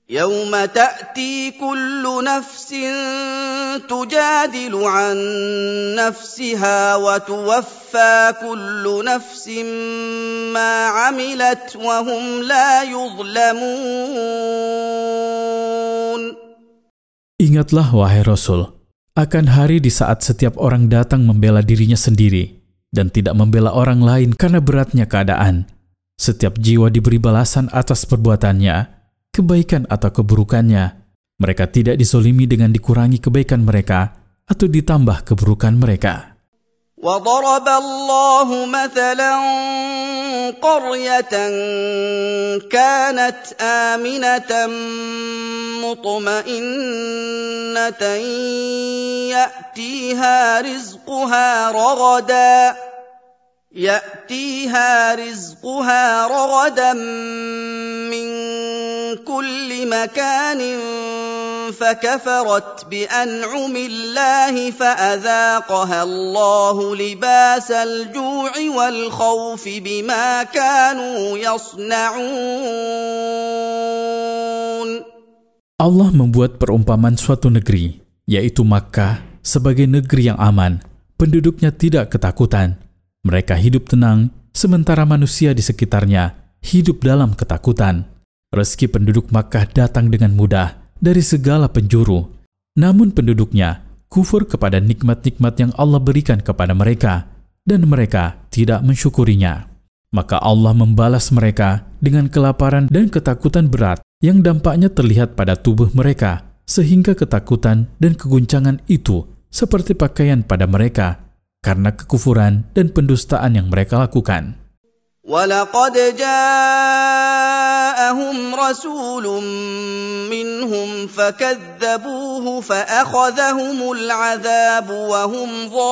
يوم تأتي كل نفس تجادل عن نفسها وتوفى كل نفس ما عملت وهم لا يظلمون. Ingatlah wahai Rasul, akan hari di saat setiap orang datang membela dirinya sendiri dan tidak membela orang lain karena beratnya keadaan. Setiap jiwa diberi balasan atas perbuatannya, kebaikan atau keburukannya. Mereka tidak dizolimi dengan dikurangi kebaikan mereka atau ditambah keburukan mereka. وَضَرَبَ اللَّهُ مَثَلًا قَرْيَةً كَانَتْ آمِنَةً مُطْمَئِنَّةً يأتيها رزقها رغدا من كل مكان فكفرت بأنعم الله فأذاقها الله لباس الجوع والخوف بما كانوا يصنعون. Allah membuat perumpamaan suatu negeri, yaitu Makkah, sebagai negeri yang aman. Penduduknya tidak ketakutan. Mereka hidup tenang, sementara manusia di sekitarnya hidup dalam ketakutan. Rezeki penduduk Makkah datang dengan mudah dari segala penjuru. Namun penduduknya kufur kepada nikmat-nikmat yang Allah berikan kepada mereka, dan mereka tidak mensyukurinya. Maka Allah membalas mereka dengan kelaparan dan ketakutan berat yang dampaknya terlihat pada tubuh mereka, sehingga ketakutan dan keguncangan itu seperti pakaian pada mereka, karena kekufuran dan pendustaan yang mereka lakukan. وَلَقَدْ جَاءَهُمْ رَسُولٌ مِّنْهُمْ فَكَذَّبُوهُ فَأَخَذَهُمُ الْعَذَابُ وَهُمْ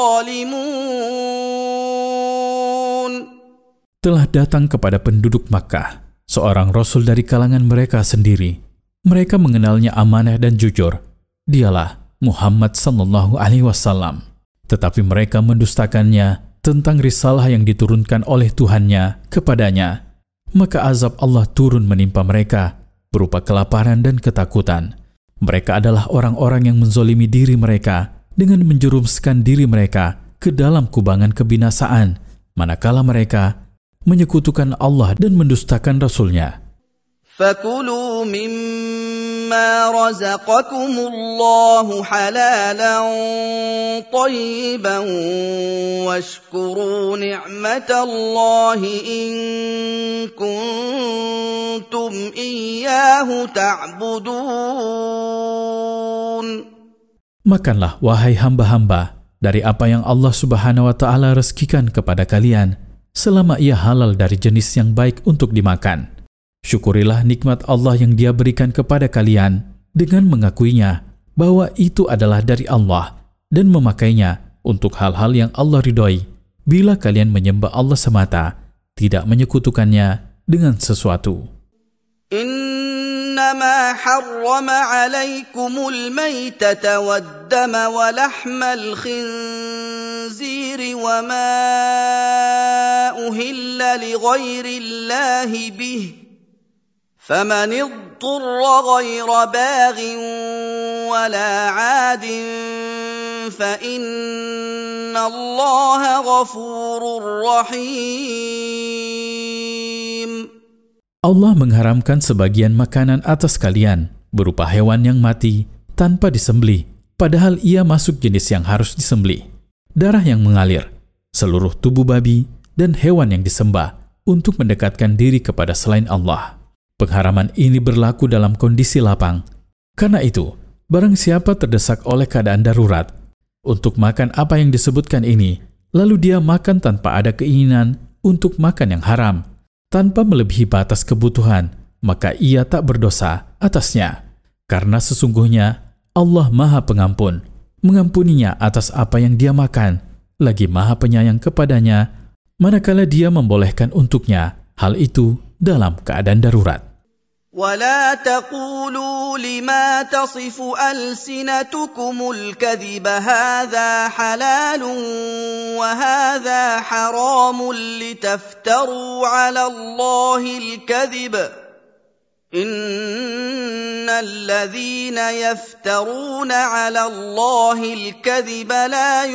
ظَالِمُونَ. Telah datang kepada penduduk Makkah seorang Rasul dari kalangan mereka sendiri. Mereka mengenalnya amanah dan jujur. Dialah Muhammad sallallahu alaihi wasallam. Tetapi mereka mendustakannya tentang risalah yang diturunkan oleh Tuhannya kepadanya. Maka azab Allah turun menimpa mereka berupa kelaparan dan ketakutan. Mereka adalah orang-orang yang menzolimi diri mereka dengan menjerumuskan diri mereka ke dalam kubangan kebinasaan, manakala mereka menyekutukan Allah dan mendustakan Rasul-Nya. فَكُلُوا مِمَّا رَزَقَكُمُ اللَّهُ حَلَالًا طَيِّبًا وَاشْكُرُوا نِعْمَةَ اللَّهِ إِن كُنتُمْ إِيَّاهُ تَعْبُدُونَ. Makanlah wahai hamba-hamba dari apa yang Allah Subhanahu wa taala rezekikan kepada kalian, selama ia halal dari jenis yang baik untuk dimakan. Syukurilah nikmat Allah yang Dia berikan kepada kalian dengan mengakuinya bahwa itu adalah dari Allah dan memakainya untuk hal-hal yang Allah ridhoi bila kalian menyembah Allah semata, tidak menyekutukannya dengan sesuatu. إنما حرم عليكم الميتة والدم ولحم الخنزير وما أهل لغير الله به فمن اضطر غير باغ ولا عاد فإن الله غفور رحيم. Allah mengharamkan sebagian makanan atas kalian berupa hewan yang mati tanpa disembelih, padahal ia masuk jenis yang harus disembelih. Darah yang mengalir, seluruh tubuh babi, dan hewan yang disembah untuk mendekatkan diri kepada selain Allah. Pengharaman ini berlaku dalam kondisi lapang. Karena itu, barang siapa terdesak oleh keadaan darurat untuk makan apa yang disebutkan ini, lalu dia makan tanpa ada keinginan untuk makan yang haram, tanpa melebihi batas kebutuhan, maka ia tak berdosa atasnya. Karena sesungguhnya Allah Maha Pengampun, mengampuninya atas apa yang dia makan, lagi Maha Penyayang kepadanya, manakala dia membolehkan untuknya hal itu dalam keadaan darurat. ولا تقولوا لما تصف ألسنتكم الكذب هذا حلال وهذا حرام لتفتروا على الله الكذب إن الذين يفترون على الله الكذب لا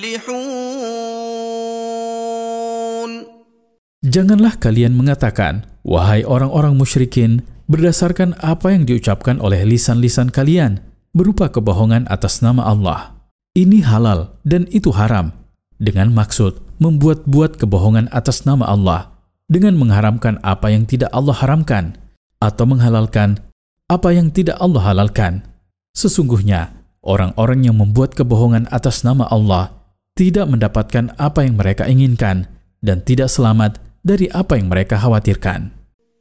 يفلحون. Janganlah kalian mengatakan, wahai orang-orang musyrikin, berdasarkan apa yang diucapkan oleh lisan-lisan kalian, berupa kebohongan atas nama Allah. Ini halal dan itu haram, dengan maksud membuat-buat kebohongan atas nama Allah, dengan mengharamkan apa yang tidak Allah haramkan, atau menghalalkan apa yang tidak Allah halalkan. Sesungguhnya, orang-orang yang membuat kebohongan atas nama Allah tidak mendapatkan apa yang mereka inginkan dan tidak selamat dari apa yang mereka khawatirkan.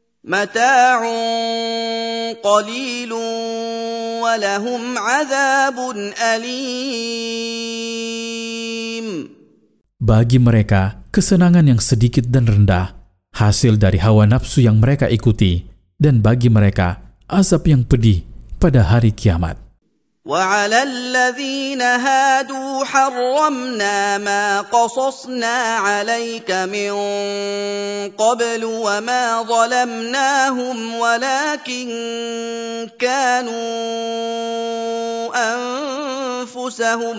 Mata'un qalilun wa lahum 'adzabun alim. Bagi mereka, kesenangan yang sedikit dan rendah, hasil dari hawa nafsu yang mereka ikuti, dan bagi mereka, azab yang pedih pada hari kiamat. وَعَلَى الَّذِينَ هَادُوا حَرَّمْنَا مَا قَصَصْنَا عَلَيْكَ مِنْ قَبْلُ وَمَا ظَلَمْنَاهُمْ وَلَكِنْ كَانُوا أَنفُسَهُمْ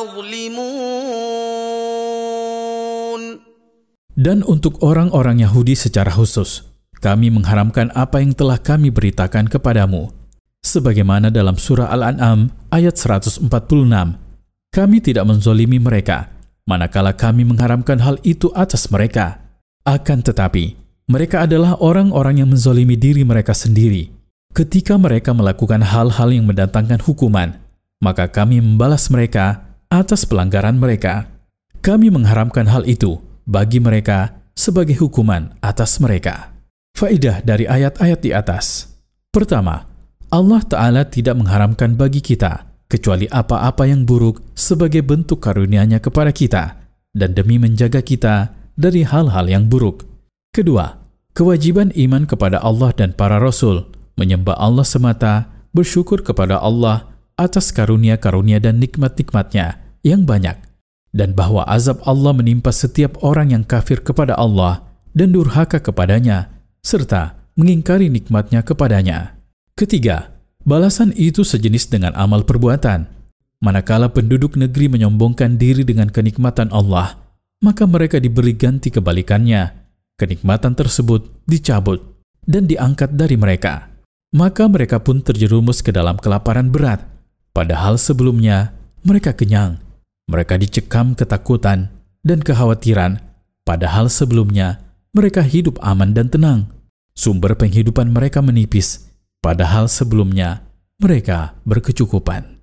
يَظْلِمُونَ. Dan untuk orang-orang Yahudi secara khusus, kami mengharamkan apa yang telah kami beritakan kepadamu. Sebagaimana dalam surah Al-An'am ayat 146, kami tidak menzolimi mereka, manakala kami mengharamkan hal itu atas mereka. Akan tetapi, mereka adalah orang-orang yang menzolimi diri mereka sendiri. Ketika mereka melakukan hal-hal yang mendatangkan hukuman, maka kami membalas mereka atas pelanggaran mereka. Kami mengharamkan hal itu bagi mereka sebagai hukuman atas mereka. Faedah dari ayat-ayat di atas. Pertama, Allah Ta'ala tidak mengharamkan bagi kita kecuali apa-apa yang buruk sebagai bentuk karunia-Nya kepada kita dan demi menjaga kita dari hal-hal yang buruk. Kedua, kewajiban iman kepada Allah dan para Rasul, menyembah Allah semata, bersyukur kepada Allah atas karunia-karunia dan nikmat-nikmat-Nya yang banyak, dan bahwa azab Allah menimpa setiap orang yang kafir kepada Allah dan durhaka kepadanya, serta mengingkari nikmat-Nya kepadanya. Ketiga, balasan itu sejenis dengan amal perbuatan. Manakala penduduk negeri menyombongkan diri dengan kenikmatan Allah, maka mereka diberi ganti kebalikannya. Kenikmatan tersebut dicabut dan diangkat dari mereka. Maka mereka pun terjerumus ke dalam kelaparan berat. Padahal sebelumnya mereka kenyang. Mereka dicekam ketakutan dan kekhawatiran. Padahal sebelumnya mereka hidup aman dan tenang. Sumber penghidupan mereka menipis. Padahal sebelumnya mereka berkecukupan.